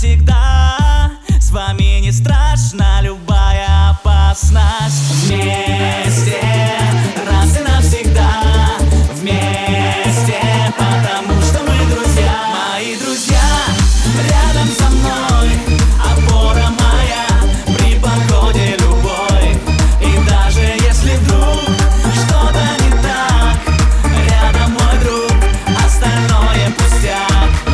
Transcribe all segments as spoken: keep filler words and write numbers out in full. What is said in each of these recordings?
навсегда. С вами не страшна любая опасность. Вместе, раз и навсегда. Вместе, потому что мы друзья. Мои друзья рядом со мной, опора моя при походе любой. И даже если вдруг что-то не так, рядом мой друг, остальное пустяк.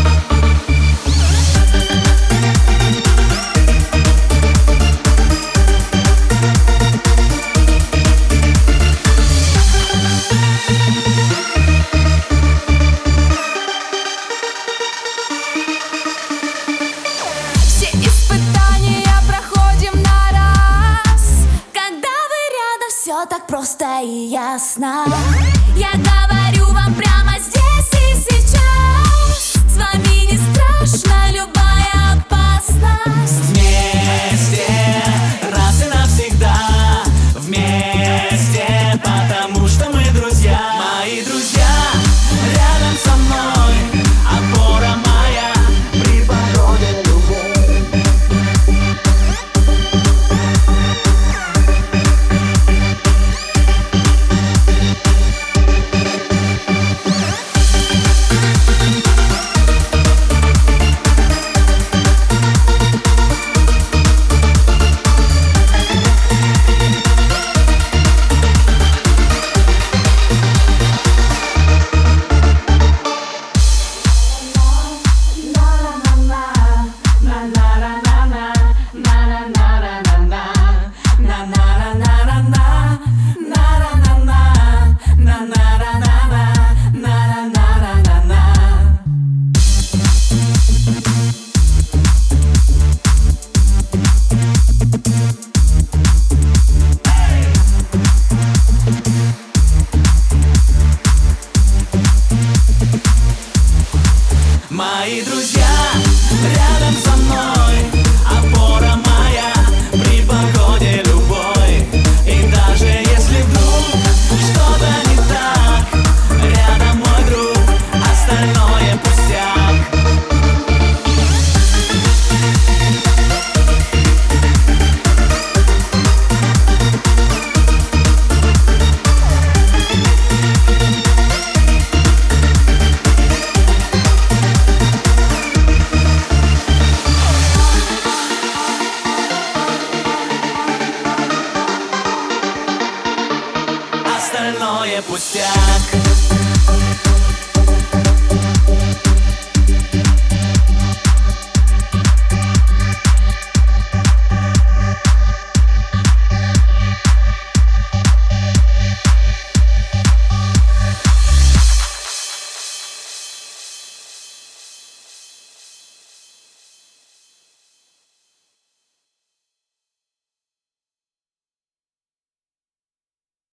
Все испытания проходим на раз. Когда вы рядом, все так просто и ясно. Я говорю вам прямо здесь и сейчас. С вами не страшна любая опасность. Вместе, раз и навсегда. Вместе, потому что мы друзья. Мои друзья рядом со мной, опора моя при походе любой. Мои друзья рядом со мной, опора моя при походе любой. И даже если вдруг что-то не так, рядом мой друг, остальное пустяк. Остальное пустяк.